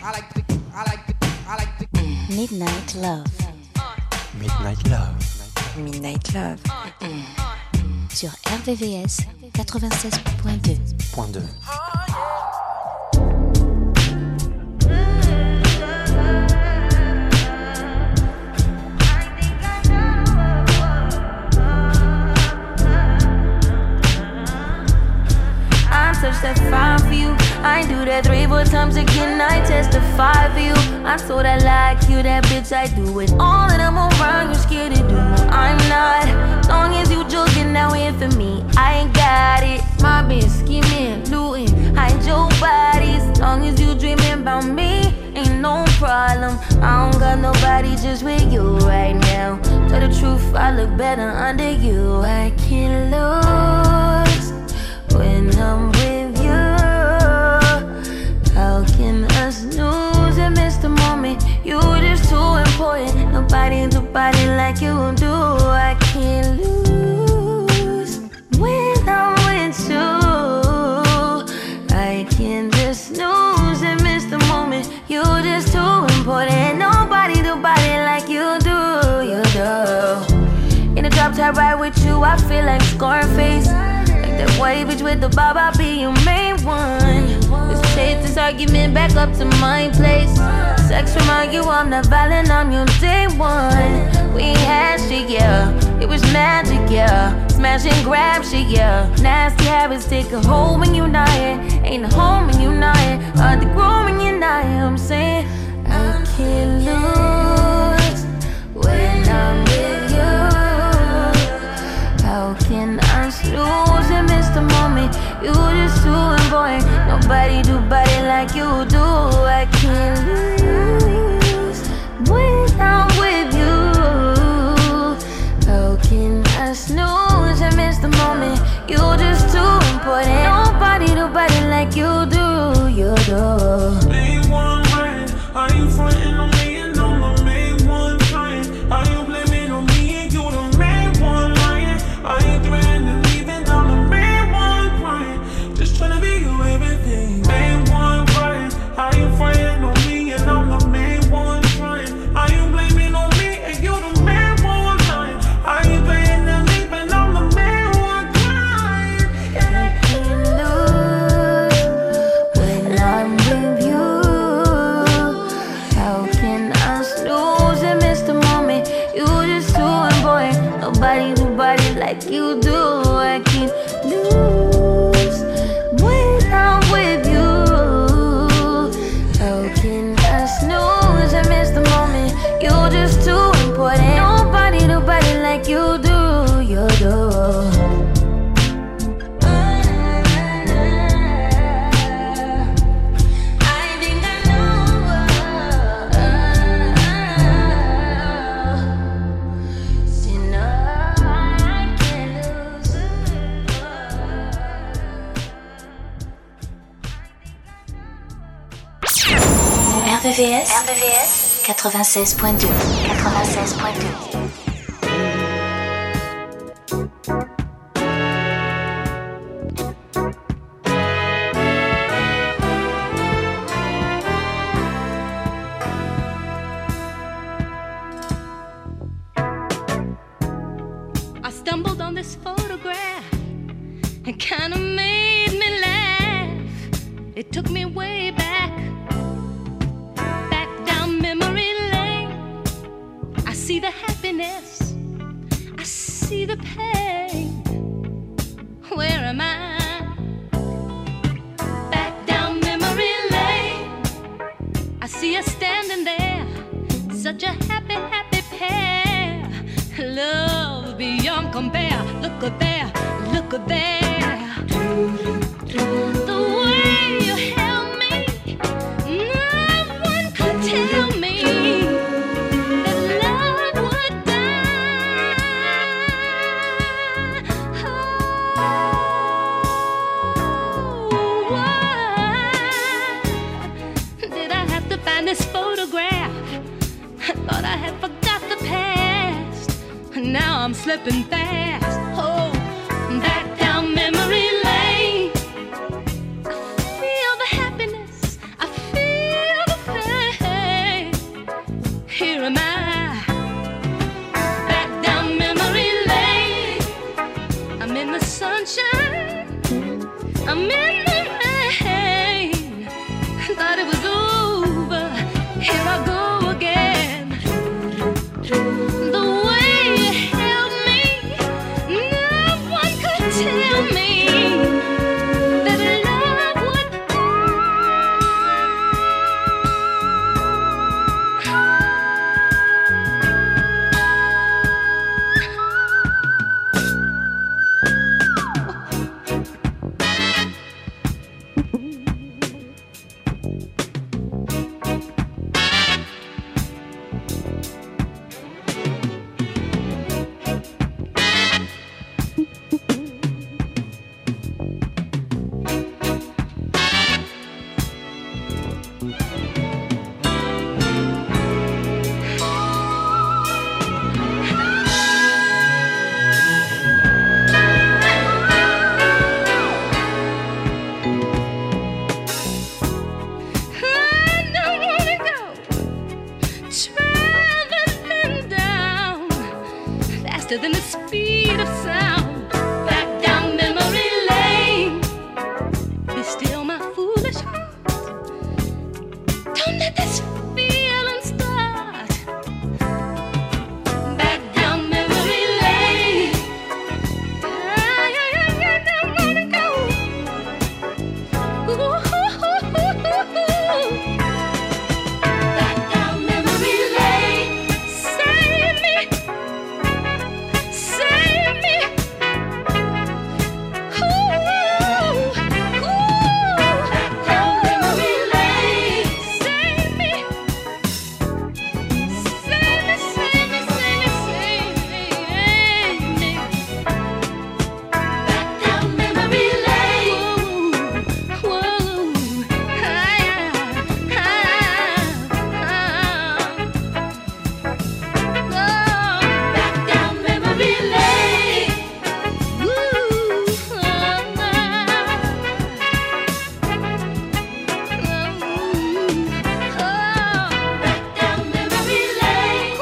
Midnight Love. Midnight Love. Midnight Love. Sur RVVS 96.2. Touch that fire for you. I do that 3-4 times again. I testify for you. I told I like you, that bitch. I do it all that I'm around. You scared to do. I'm not. Long as you joking now in for me, I ain't got it. My bitch scheming, looting, hide your bodies. Long as you dreaming about me, ain't no problem. I don't got nobody just with you right now. Tell the truth, I look better under you. I can't lose when I'm with you. How can us lose and miss the moment? You just too important. Nobody do body like you do. I can't lose when I'm with you. I can't just lose and miss the moment. You just too important. Nobody do body like you do. You do. In a drop top ride with you, I feel like Scarface. That white bitch with the bob, I'll be your main one. Let's take this argument back up to my place. Sex remind you I'm not violent, I'm your day one. We had shit, yeah, it was magic, yeah. Smash and grab shit, yeah. Nasty habits take a hold when you're not here. Ain't a home when you're not here. Hard to grow when you're not here. I'm saying I can't lose when I'm with you. How can I lose and miss the moment? You just too important. Nobody do body like you do. I can't lose when I'm with you. How can I snooze and miss the moment? You just too important. Nobody do body like you do. You do. Main one right. Are you frontin' on me and I'm the main one trying? Are you blaming on me and you the main one lying? Are you threatening leaving? I'm the main one crying. Just tryna be you everything. Main one crying. Are you frontin' on me and I'm the main one trying? Are you blaming on me and you the main one lying? Are you threatening leaving? I'm the main one crying. I can't lose when I'm with you. How can I snooze and miss the moment? You just too important. Nobody do body like you do. I can't lose when I'm with you. How can I snooze and miss the moment? You just too important. Nobody do body like you do. You do. RVVS 96.2. I stumbled on this photograph. It kinda made me laugh. It took me way back down memory lane. I see the happiness, I see the pain. Where am I? Back down memory lane. I see us standing there, such a happy, happy pair. Love beyond compare. Look at there, look at there. The way you held me, no one could tell me that love would die. Oh, why did I have to find this photograph? I thought I had forgot the past. Now I'm slipping fast. Oh, back down memory lane. I feel the happiness, I feel the pain. Thought it was over. Here I go again. The way you held me, no one could tell me that love would. Than the speed of sound, back down memory lane. Be still, my foolish heart. Don't let this feeling start. Back down memory lane. Don't wanna go. Back down memory lane. Save me. Save me. Ooh, back down memory lane. Save me. Save me, save me, save me, save me. Back down memory lane. Whoa, back down memory lane. Back down memory lane.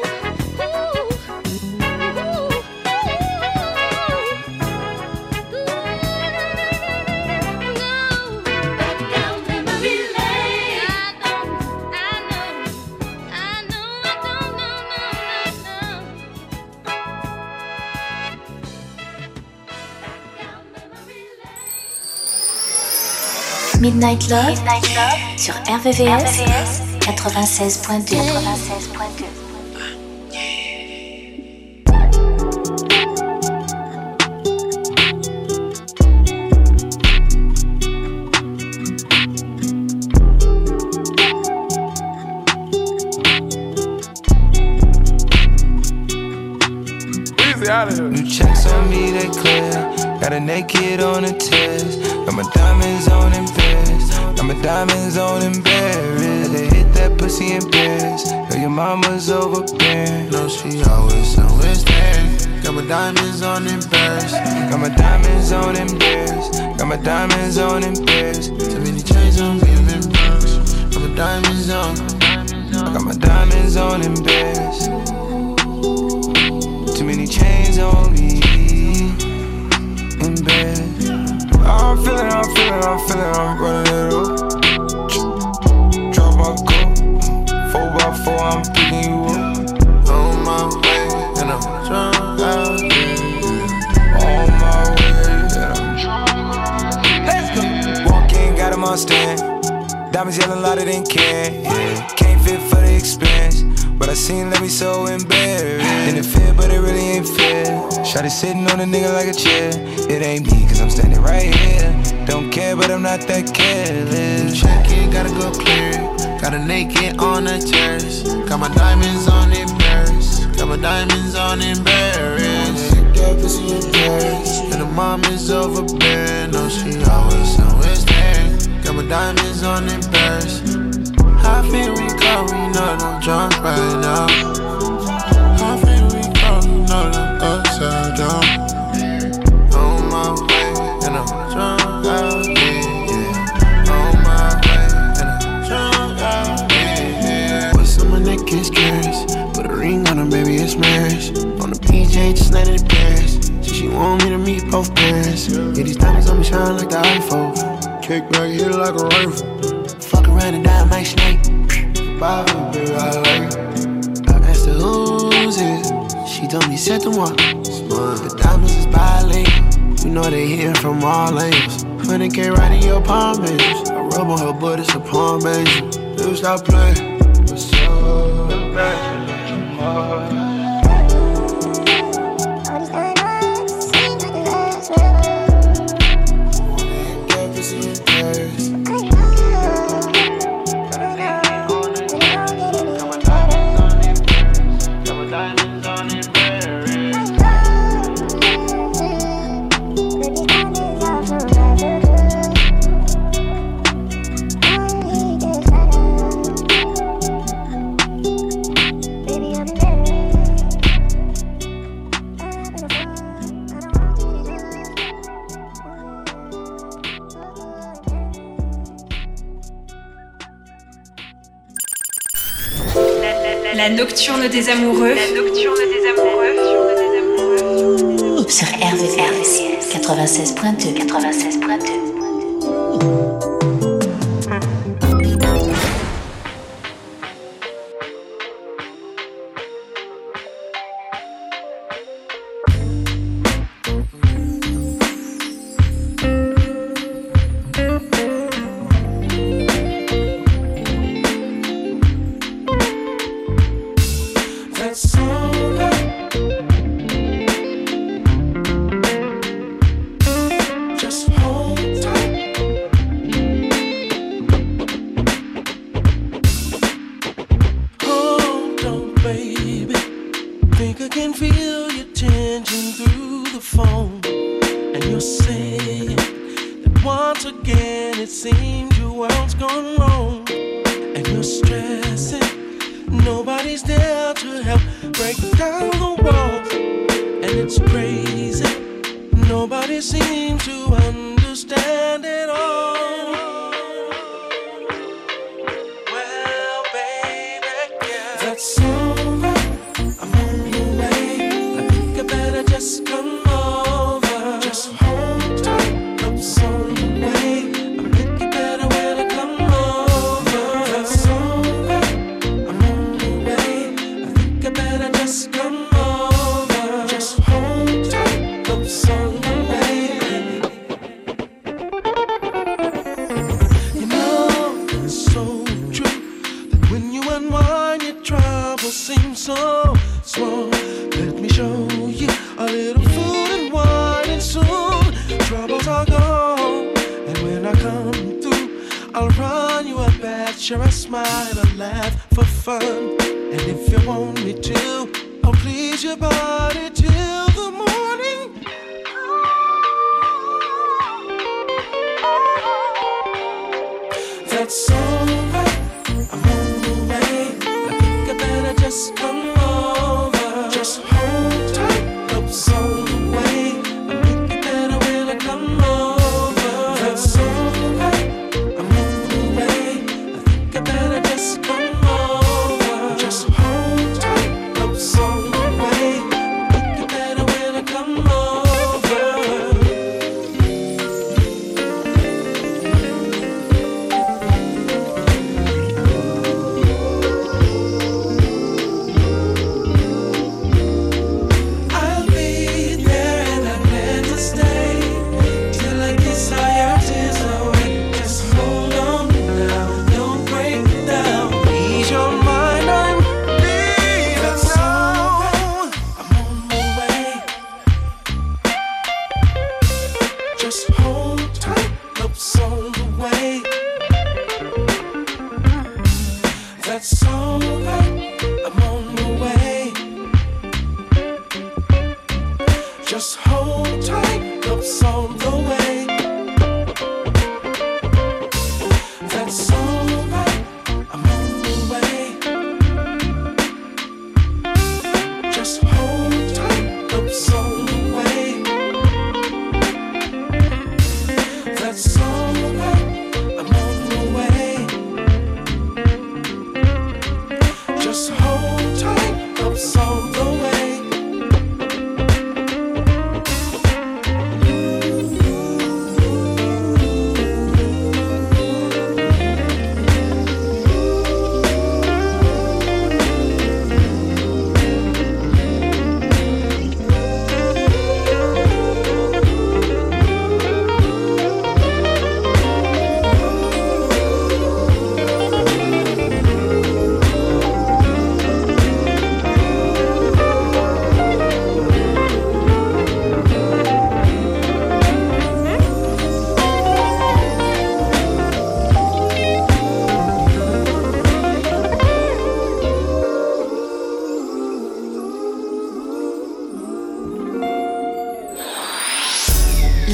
Back down memory lane. I know. Midnight Love sur RVVS 96.2. New checks on me, they clear. Got a naked on a test. Got my diamonds on and bears. Got my diamonds on and bears. They hit that pussy in pairs. Girl, your mama's overbearing. No, she always there. Got my diamonds on and bears. Got my diamonds on and bears. Got my diamonds on and bears. Too many chains on me, I'm in Bronx. Got my diamonds on. I got my diamonds on and bears. Too many chains on me in bed. I'm feeling, I'm running it up. Drop my cup, 4x4, I'm picking you up. On my way, and I'm drunk out here. On my way, and I'm let's go. Walk in, got him on stand. Diamonds yelling louder than can. Yeah. Can't fit for the expense, but I seen let me so embarrassed. And it fit, but it really ain't fair. Shawty sitting on a nigga like a chair. It ain't me, cause I'm standing right here. Don't care, but I'm not that careless. Check it, gotta go clear. Got a naked on the terrace. Got my diamonds on in Paris. Got my diamonds on in Paris. And the mom is overbearing. No, she always there. Got my diamonds on in Paris. How feel we go? We know that I'm drunk right now. How feel we go? We know that I'm upside down. On my way, and I'm drunk out here. On my way, and I'm drunk out here. What's on my neck is curious. Put a ring on her, baby, it's marriage. On the PJ, just let it pass. She She want me to meet both parents. Yeah, these diamonds on me shine like the iPhone. Kick back, hit it like a rifle. Fuck around and die, my snake. Bye, baby, I like it. I asked her who's it. She told me c'est moi. The diamonds is bilingual. You know they hear from all angles. 100K right in your palm, baby. I rub on her butt, it's a palm, baby. You stop playing. What's up? La nocturne des amoureux. La nocturne des amoureux. Sur RVVS 96.2. 96.2.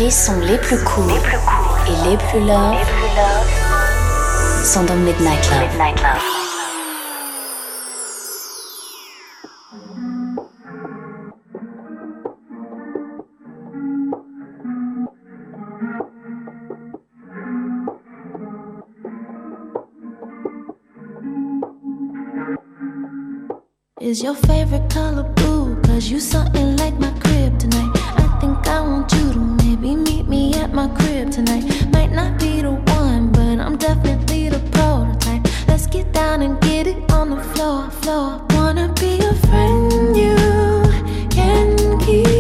Les sons les plus cool et les plus love sont dans Midnight Love. Is your favorite color blue? Cause you something like my crib tonight. I think I want you to maybe meet me at my crib tonight. Might not be the one, but I'm definitely the prototype. Let's get down and get it on the floor. Wanna be a friend you can keep.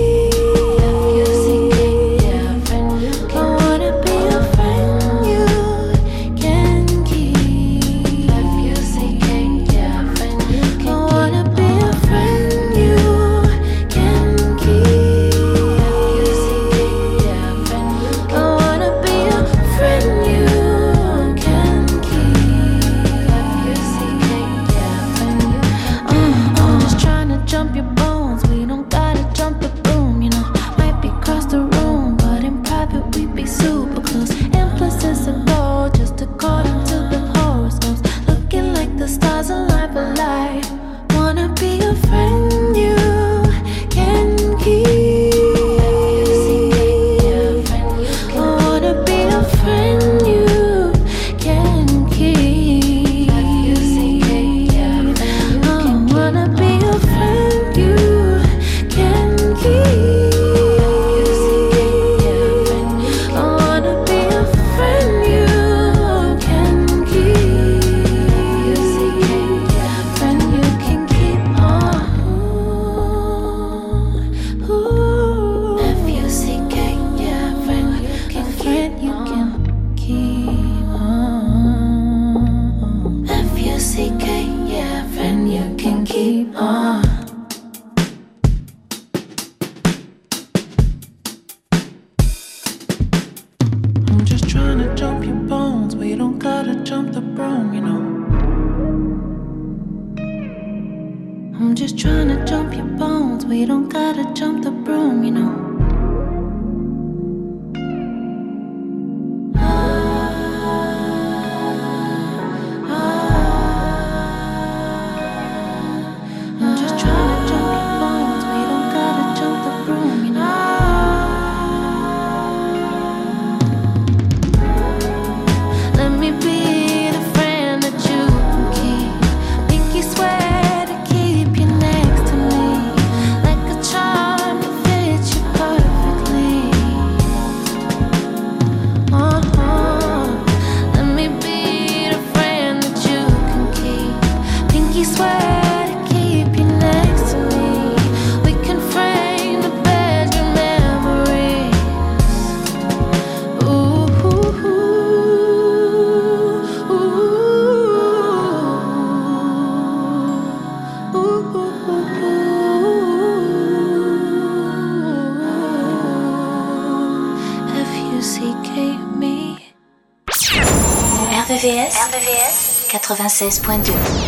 RVVS 96.2.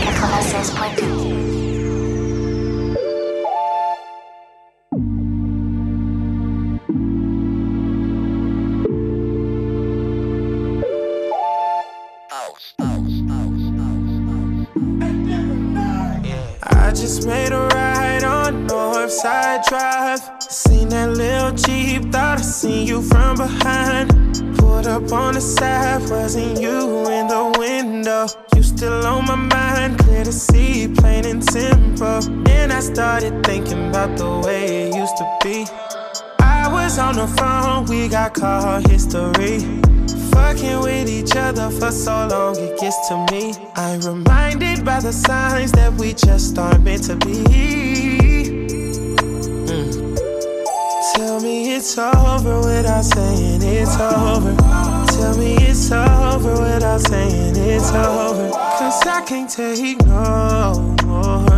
I just made a ride on Northside Drive. Seen that little Jeep, thought I seen you from behind. Pulled up on the side, wasn't you in the window? You still on my mind, clear to see, plain and simple. Then I started thinking about the way it used to be. I was on the phone, we got call history. Fucking with each other for so long, it gets to me. I'm reminded by the signs that we just aren't meant to be. Tell me it's over without saying it's over. Tell me it's over without saying it's over. Cause I can't take no more.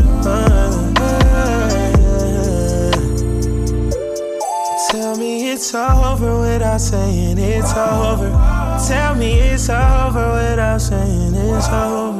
Tell me it's over without saying it's over. Tell me it's over without saying it's over.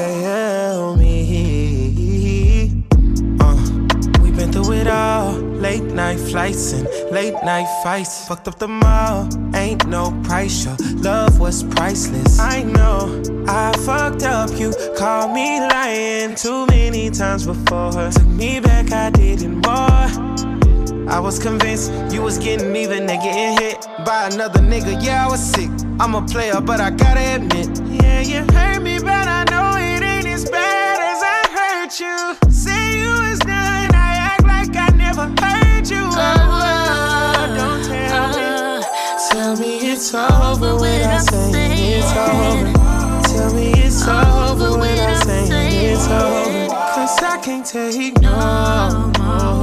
Tell me we've been through it all. late night flights and late night fights. Fucked up the mall, ain't no price. Your love was priceless. I know I fucked up, you called me lying too many times before. Took me back, I didn't more. I was convinced you was getting even and getting hit by another nigga. Yeah, I was sick. I'm a player, but I gotta admit, yeah, you hurt me, but I know it ain't as bad as I hurt you. Say you was done, I act like I never heard you. Don't tell me. Tell me it's over without saying it's over. Tell me it's over without saying it's over. Cause I can't take no more.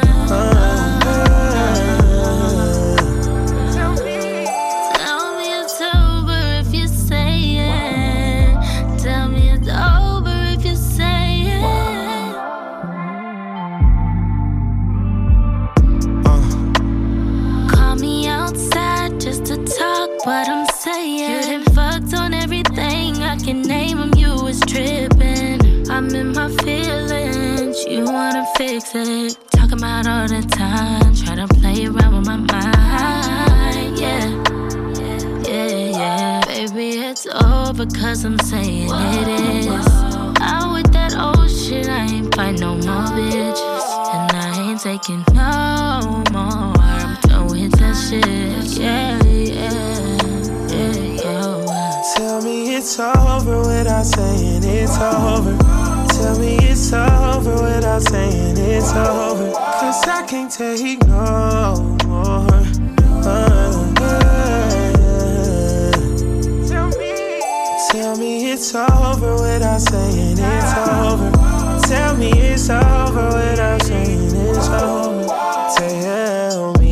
What I'm saying, you done fucked on everything I can name them. You was tripping. I'm in my feelings. You wanna fix it? Talking about all the time. Try to play around with my mind. Yeah, yeah, yeah. Baby, it's over 'cause I'm saying it is. Out with that old shit. I ain't fight no more bitches, and I ain't taking no more. I'm done with that shit. Yeah, yeah. Tell me it's over without saying it's over. Tell me it's over without saying it's over. Cause I can't take no more. Tell me it's over without saying it's over. Tell me it's over without saying it's over. Tell me.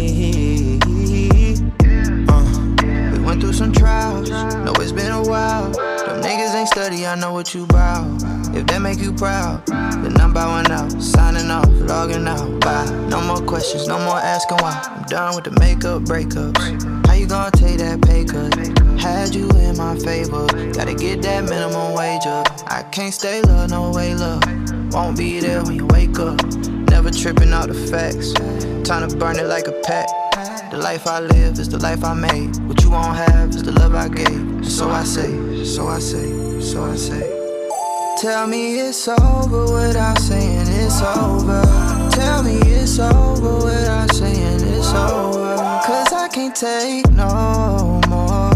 We went through some trials. Know it's been a while. Them niggas ain't study, I know what you bout. If that make you proud, then I'm bowing out, signing off, logging out. Bye. No more questions, no more asking why. I'm done with the makeup breakups. How you gonna take that pay cut? Had you in my favor, gotta get that minimum wage up. I can't stay low, no way love. Won't be there when you wake up. Never tripping out the facts. Time to burn it like a pack. The life I live is the life I made. What you won't have is the love I gave. So I say, so I say, so I say. Tell me it's over without saying it's over. Tell me it's over without saying it's over. Cause I can't take no more.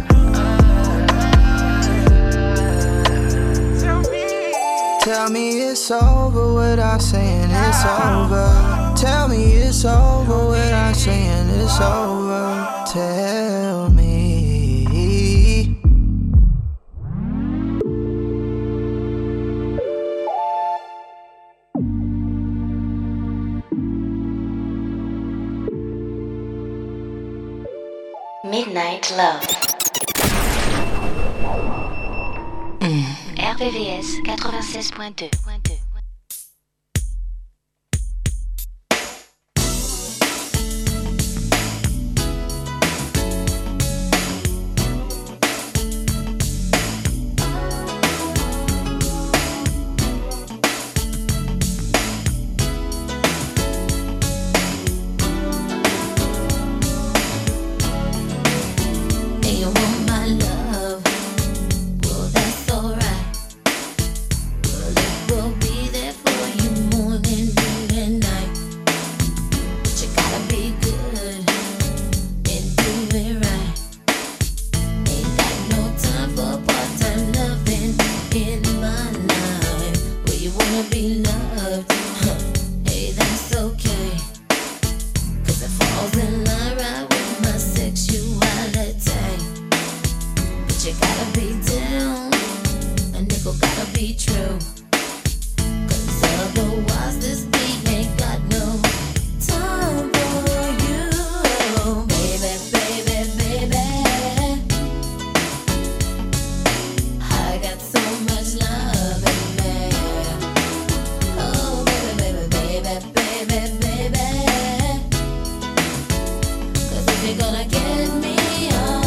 Tell me it's over without saying it's over. Tell me it's over without saying it's over. Tell me. Midnight Love. RVVS 96.2.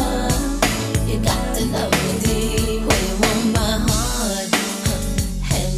You got to love me deep. Where you want my heart, and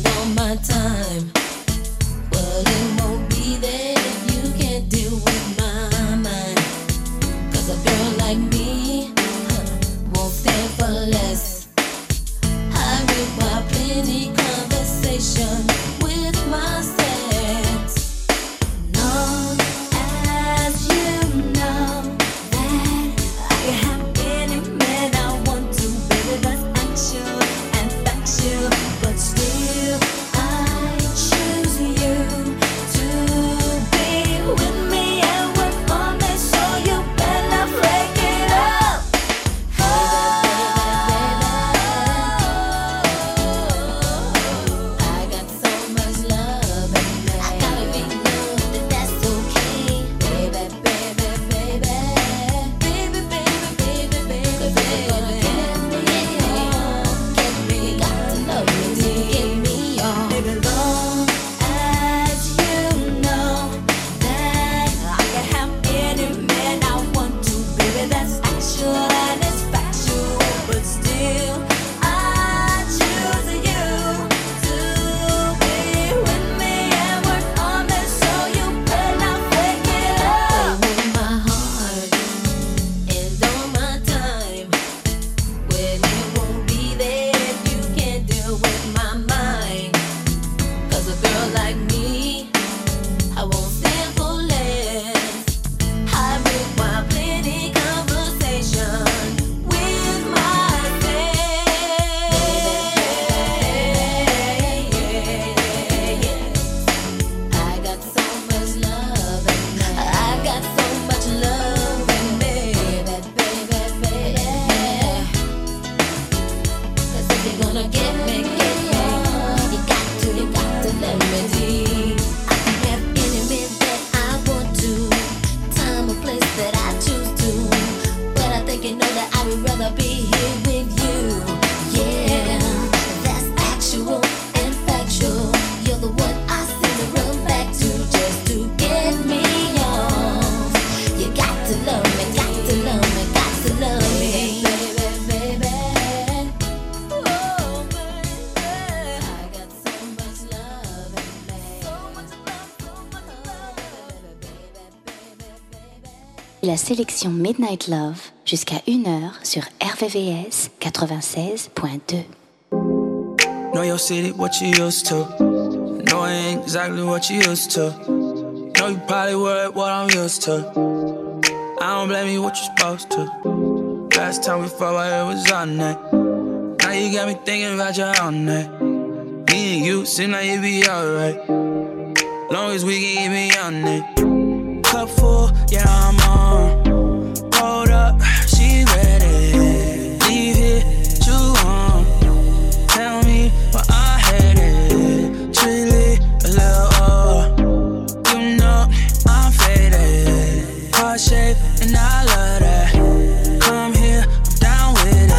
La sélection Midnight Love jusqu'à 1h sur RVVS 96.2. Know your city, what you used to. Know I ain't exactly what you used to. Know you probably worried what I'm used to. I don't blame you, what you supposed to. Last time we fought, I was on that. Now you got me thinking about your own that. Me and you seem like you be alright. Long as we can get me on it. Cup full, yeah, I'm on. Hold up, she ready. Leave here, you on. Tell me what I hated. Truly, a little you know I'm faded. Heart shape, and I love that. Come here, I'm down with it.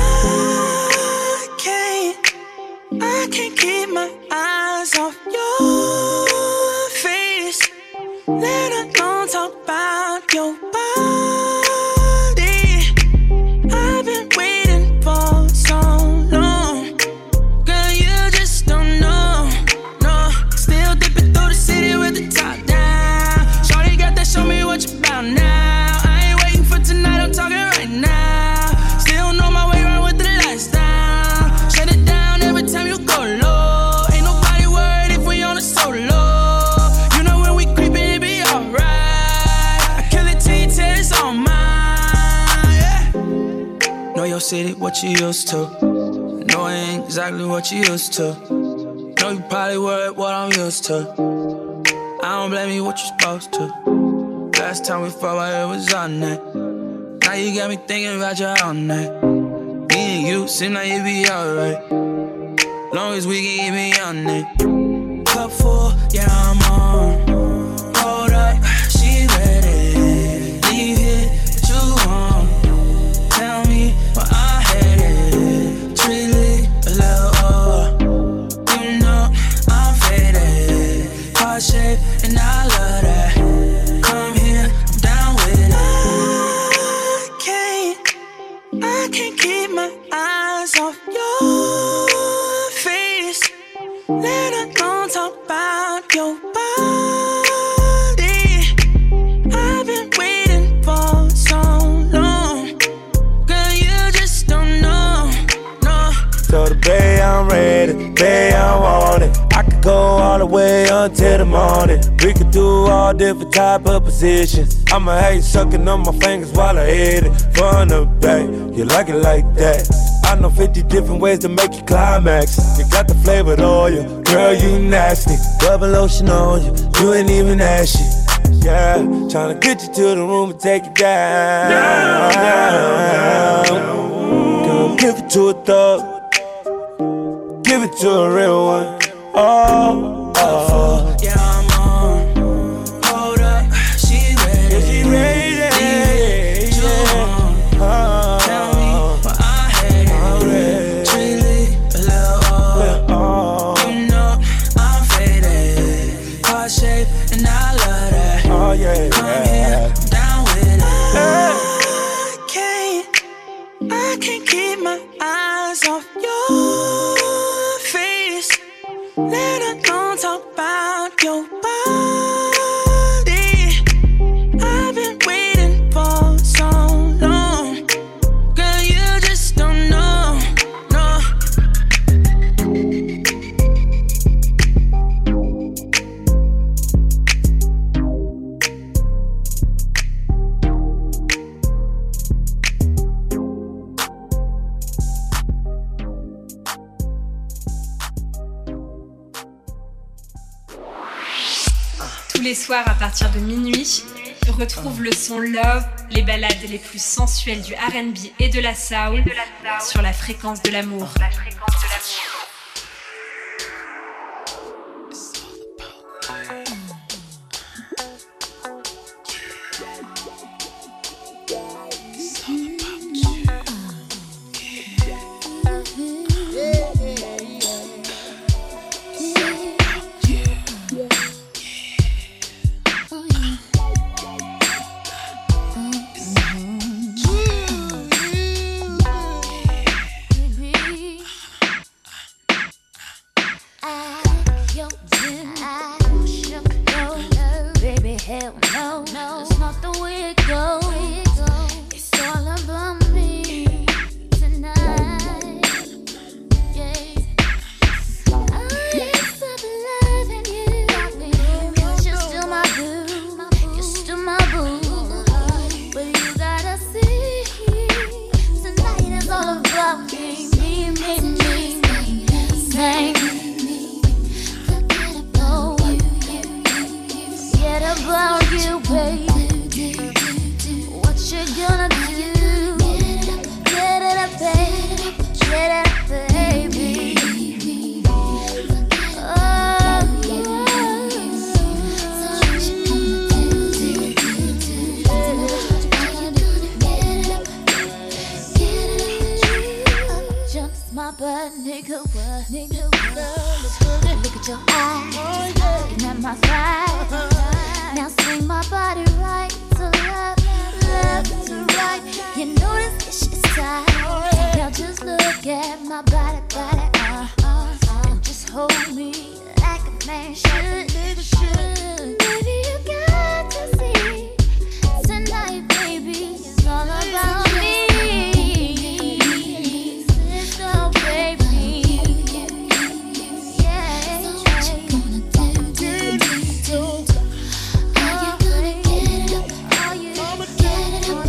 I can't keep my eyes off your face. Let alone talk about your body. I've been waiting for so long. Girl, you just don't know. No, still dipping through the city with the top down. Shorty got that, show me what you about now. I ain't waiting for tonight, I'm talking right now. Still know my way around with the lights down. Shut it down every time you go low. Ain't nobody worried if we on a solo. You know when we creepin', it be alright. I kill it till you tell it's all mine, yeah. Know your city, what you used to. Know I ain't exactly what you used to. Know you probably worried what I'm used to. I don't blame you, what you supposed to. Last time we fought, I was on that. Now you got me thinking about your own night. Me and you seem like you be alright. Long as we can get me on it. Cup full, yeah, I'm on. Hold up, she ready. Leave here, what you want. Tell me what I hated. Truly, a little you know I'm faded. Heart shape, and I love that. Come here, I'm down with it. I can't keep my eyes off your face. Let alone talk about your body. I've been waiting for so long. Girl, you just don't know. No. So the bay I'm ready, bay I want it. I could go all the way until the morning. We could do all different type of positions. I'ma hate sucking on my fingers while I hit it. From the back, you like it like that. I know 50 different ways to make you climax. You got the flavored oil, girl, you nasty. Double lotion on you, you ain't even ashy. Yeah, tryna get you to the room and take you down. Girl, give it to a thug. Give it to a real one. Oh, oh. Yeah, I'm on. Hold up, she ready. Is she ready? Tell me what I hated. Truly, a little you know I'm faded. Heart shape, and I love that. Oh, yeah. Come here, I'm down with it. I can't keep my eyes off your face. Let alone talk about your body. I've been waiting for so long. Girl, you just don't know. No. Tous les soirs à partir de minuit, retrouve le son Love, les ballades les plus sensuelles du R&B et de la soul sur la fréquence de l'amour. nigga. Look at your eyes, looking at my thighs. Now swing my body right to left, left to right. You know this shit's tight. Now just look at my body, and just hold me like a man should. Baby, you got to see tonight, baby, it's all about me. So baby, yeah. So what you gonna do? Are you gonna get it up? Are you gonna get it up?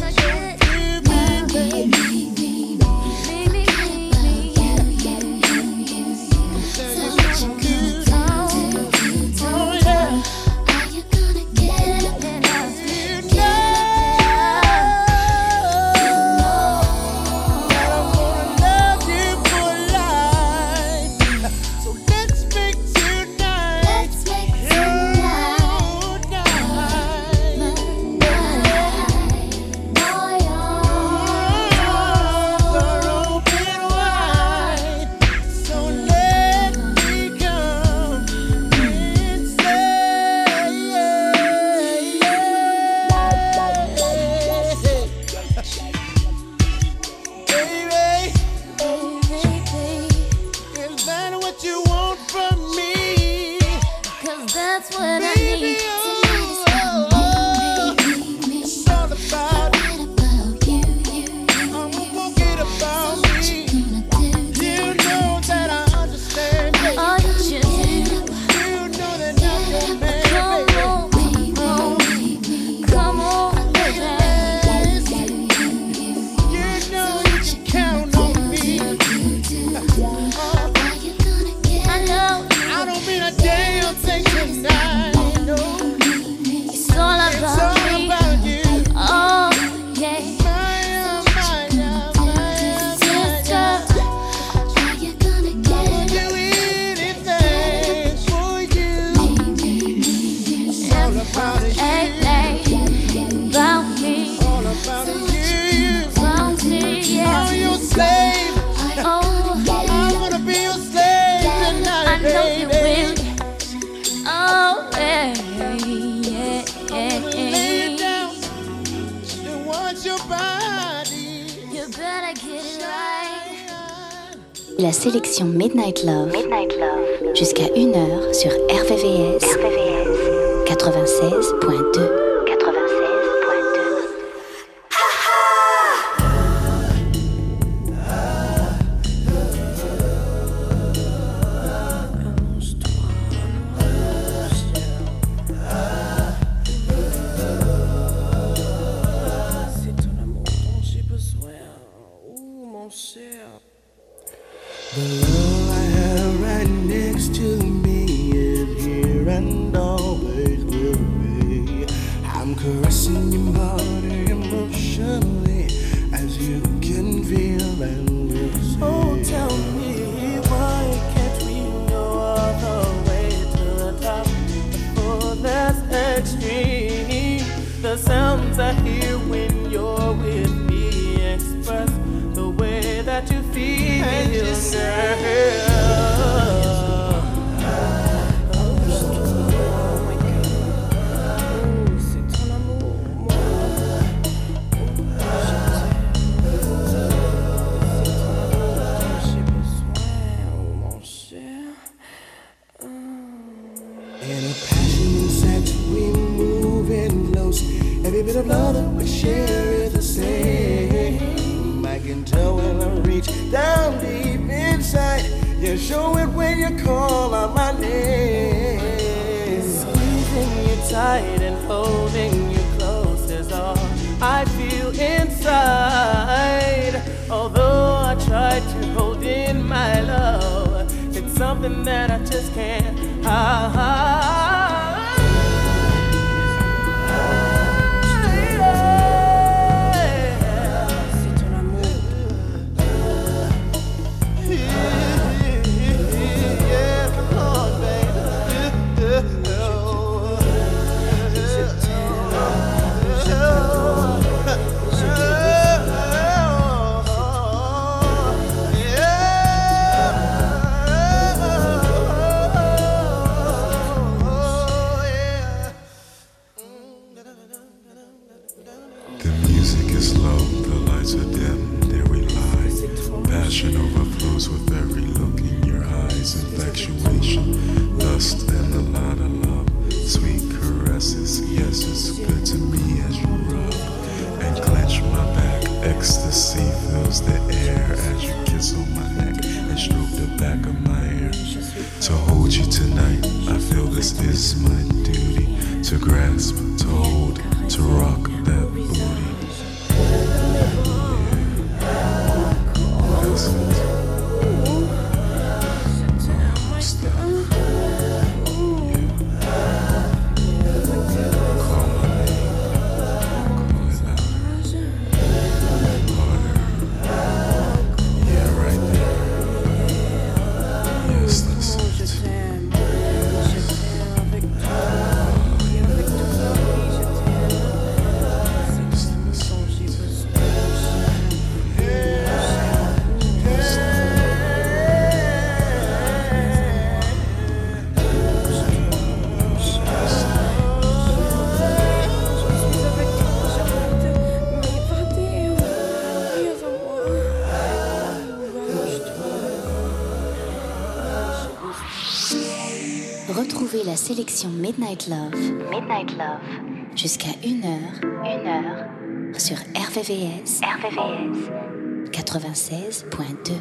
La sélection Midnight Love, jusqu'à 1h sur RVVS 96.2. The love I have right next to me is here and always will be. I'm caressing your body emotionally, as you can feel and will see. Oh, tell me, why can't we go all the way to the top before that's extreme? The sounds I hear when you're with me express the way that you feel, and you say, every bit of love that we share is the same. I can tell when I reach down deep inside. You show it when you call out my name. Squeezing you tight and holding you close is all I feel inside. Although I try to hold in my love, it's something that I just can't hide. Lust and a lot of love, sweet caresses. Yes, it's good to me as you rub and clench my back. Ecstasy fills the air as you kiss on my neck and stroke the back of my hair. To hold you tonight, I feel this is my duty. To grasp, to hold, to rock that booty. That's it. Retrouvez la sélection Midnight Love jusqu'à 1h sur RVVS 96.2.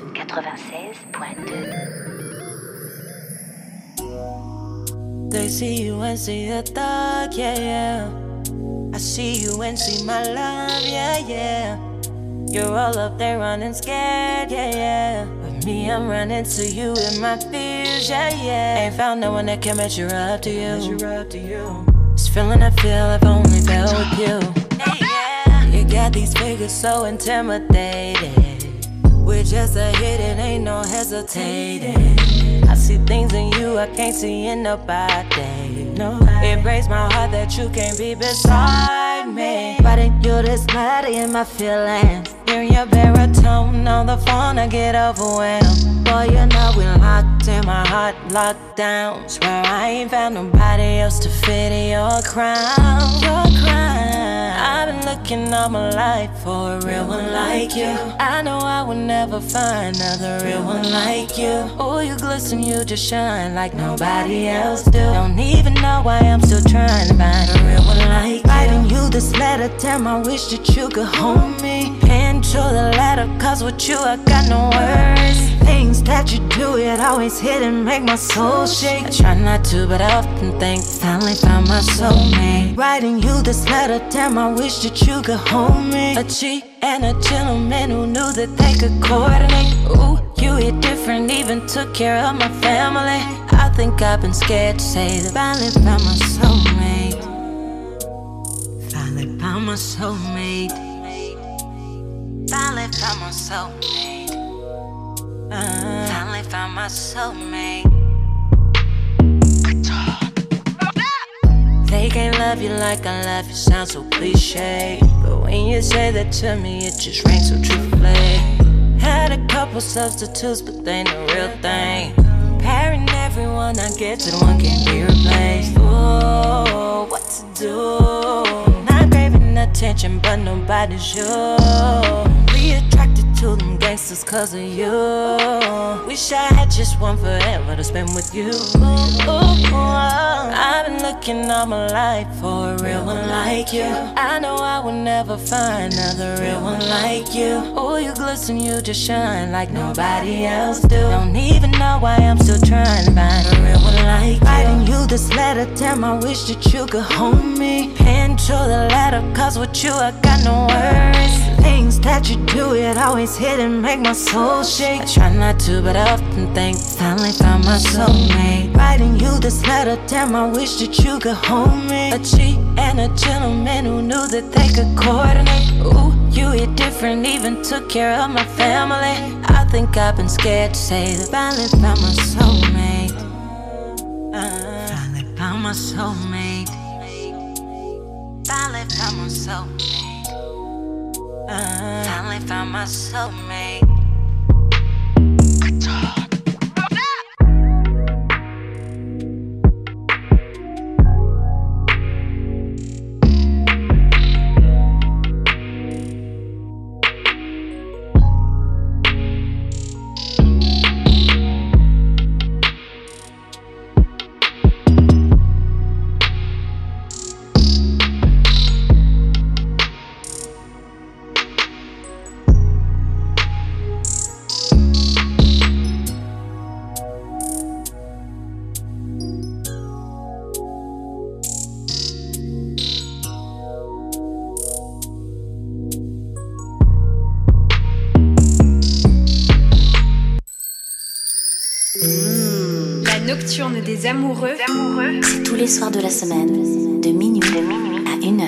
They see you and see a thug, yeah, yeah. I see you and see my love, yeah, yeah. You're all up there running scared, yeah, yeah. With me, I'm running to you in my fears, yeah, yeah. Ain't found no one that can measure up to you. This feeling I feel I've only felt with you. You got these figures so intimidating. With just a hit, it ain't no hesitating. I see things in you I can't see in nobody. It breaks my heart that you can't be beside me. Writing you this letter in my feelings. Hearing your baritone on the phone, I get overwhelmed. Boy, you know we locked in, my heart locked down. Swear I ain't found nobody else to fit in your crown. I've been looking all my life for a real one like you. I know I will never find another real one like you. Oh, you glisten, you just shine like nobody else do. Don't even know why I'm still trying to find a real one like you. Writing you this letter, damn, I wish that you could hold me. Pen to the letter, cause with you I got no words. Things that you do, it always hit and make my soul shake. I try not to, but I often think, finally found my soulmate. Writing you this letter, damn, I wish that you could hold me. A cheat and a gentleman who knew that they could coordinate. Ooh, you hit different, even took care of my family. I think I've been scared to say that finally found my soulmate. Finally found my soulmate. Finally found my soulmate. Finally found my soulmate. They can't love you like I love you, sounds so cliche. But when you say that to me, it just rings so truthfully. Had a couple substitutes, but they ain't the real thing. Comparing everyone I get to the one can't be replaced. Ooh, what to do? Not craving attention, but nobody's you. We attracted to them gangsters cause of you. Wish I had just one forever to spend with you. I've been looking all my life for a real one like you. I know I will never find another real one like you. Oh, you glisten, you just shine like nobody else do. Don't even know why I'm still trying to find a real one like you. Writing you this letter, damn, I wish that you could hold me. Pen to the letter, cause with you I got no words. Things that you do, it always hit and make my soul shake. I try not to, but I often think, finally found my soulmate. Writing you this letter, damn, I wish that you could hold me. A cheat and a gentleman who knew that they could coordinate. Ooh, you hit different, even took care of my family. I think I've been scared to say that finally found my soulmate. Finally found my soulmate. Finally found my soulmate. Finally found my soulmate. nocturne des amoureux. C'est tous les soirs de la semaine, de minuit à 1h.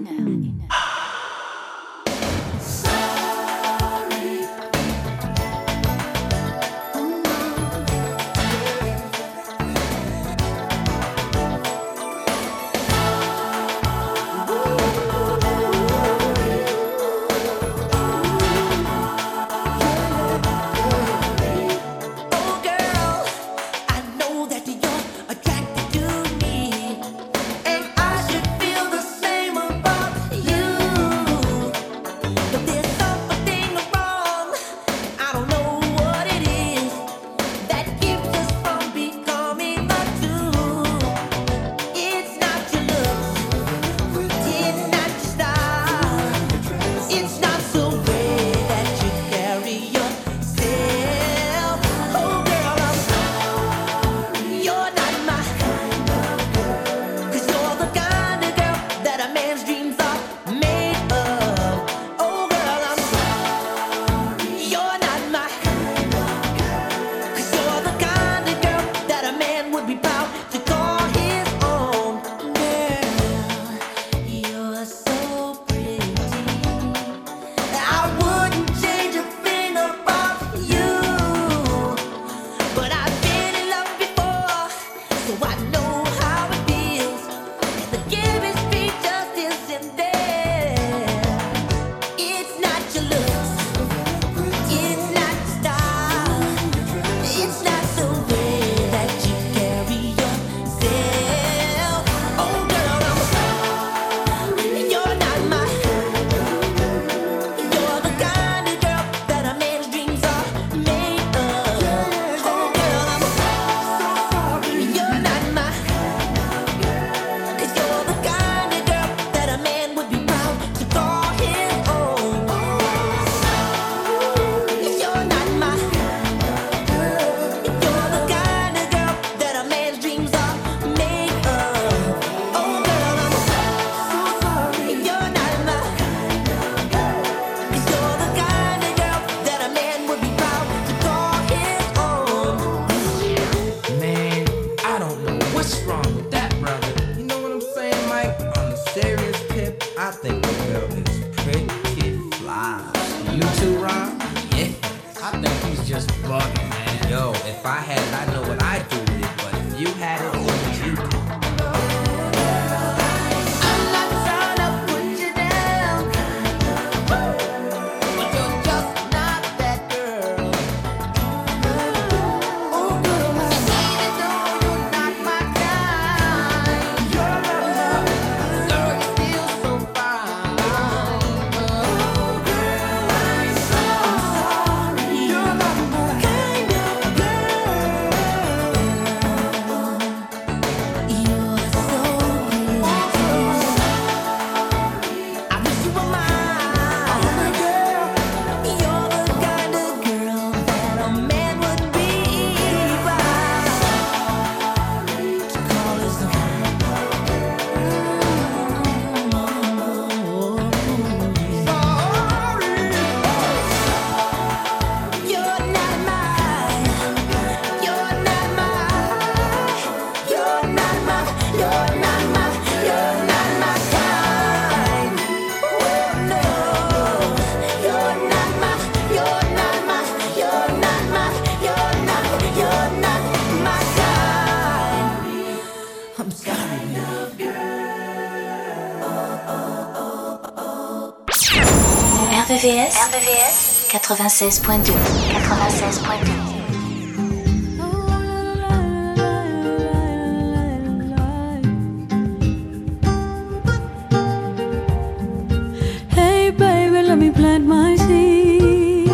RVVS 96.2. Hey baby, let me plant my seed.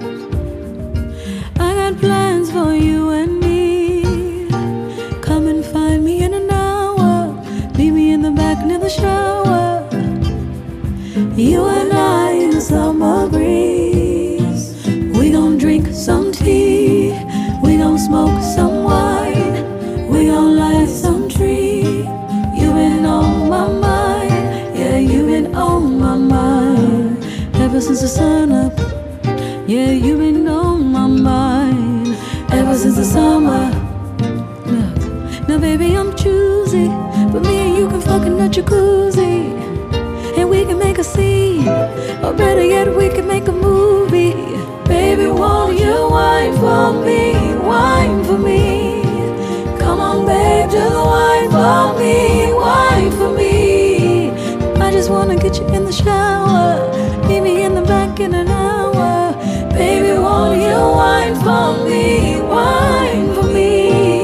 I got plans for you and me. Come and find me in an hour. Meet me in the back near the shower. You and I in summer breeze. We gon' drink some tea. We gon' smoke some wine. We gon' light some tree. You been on my mind. Yeah, you been on my mind. Ever since the sun up. Yeah, you been on my mind. Ever since the summer. Look. Now baby, I'm choosy, but me and you can fuck in a jacuzzi, and we can make a scene, or better yet, we can make a movie. Baby, won't you wine for me, wine for me? Come on, babe, just wine for me, wine for me. I just wanna get you in the shower, meet me in the back in an hour. Baby, won't you wine for me, wine for me?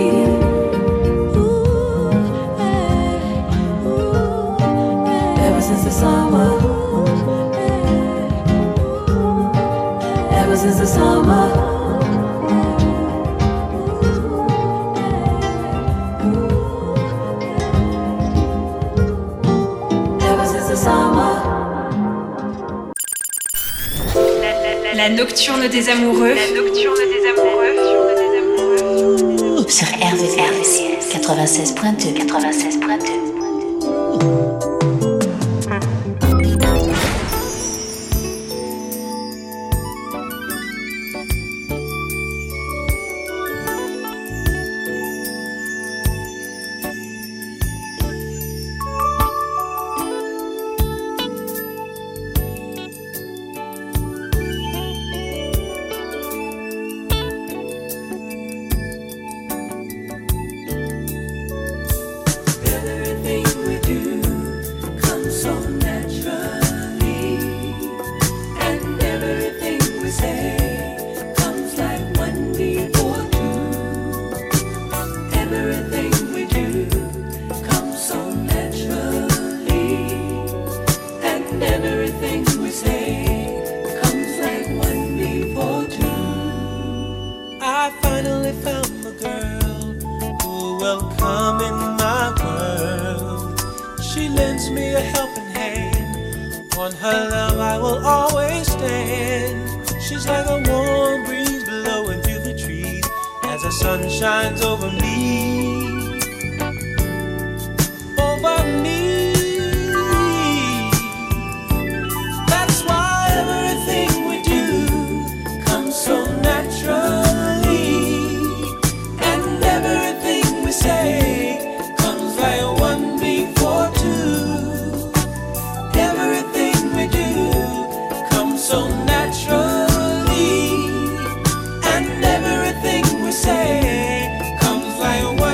Ever since the summer, ever since the summer. La nocturne des amoureux. La nocturne des amoureux. Sur RVVS 96.2. 96.2. Say comes like a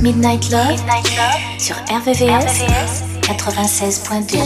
Midnight Love sur RVVS 96.2.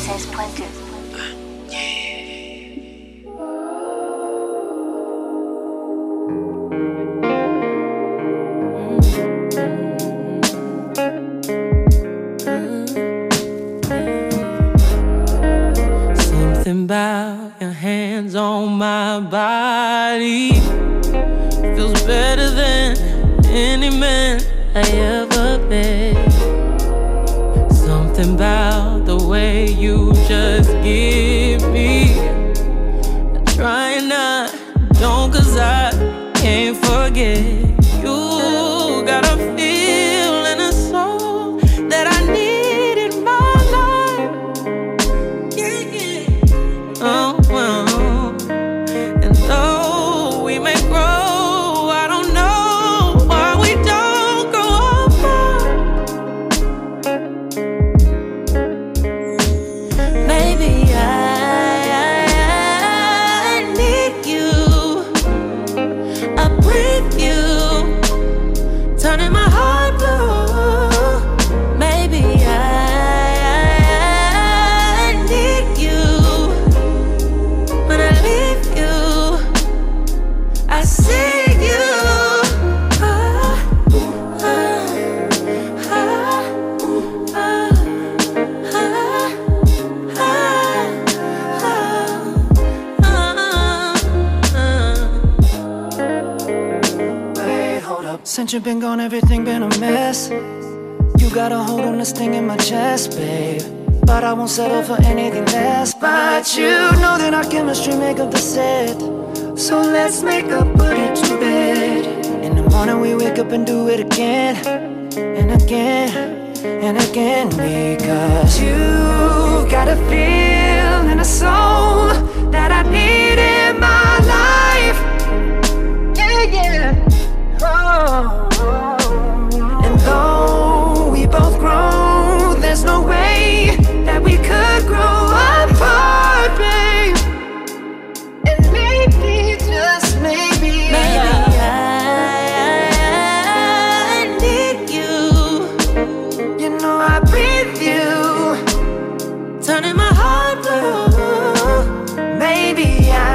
Something about your hands on my body feels better than any man I ever met. Something about the way you just give me a try not, don't, 'cause I can't forget. You got a feel and a soul that I need in my life. Yeah, yeah. Oh, well. And though we may grow, I don't know why we don't grow apart. Maybe I need you. I breathe you, turning my heart blue. Maybe I need you. When I leave you, I see you. Wait, hold up. Since you've been gone, everything been a mess. You got a hold on this thing in my chest, babe. But I won't settle for anything less. But you know that our chemistry make up the set. So let's make up, put it to bed. In the morning we wake up and do it again. And again, and again. Because you got a feel and a soul that I need in my life. Yeah, yeah. Oh. And though we both grow, there's no way that we could grow apart, babe. And maybe, just maybe, I need you. you know I breathe you, turning my heart blue. maybe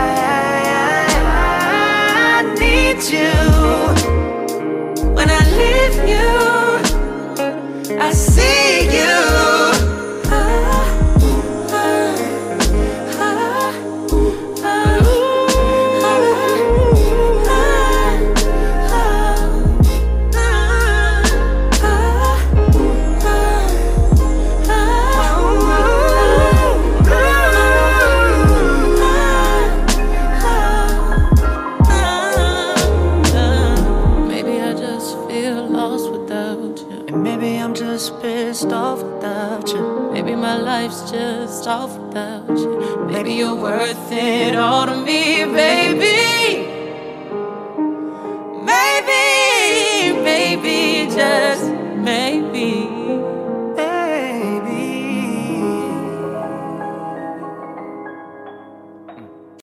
I need you. When I leave you, I see you. Maybe I just feel lost without you. And maybe I'm just pissed off without you. Maybe my life's just off without you. Maybe you're worth it all to me, baby.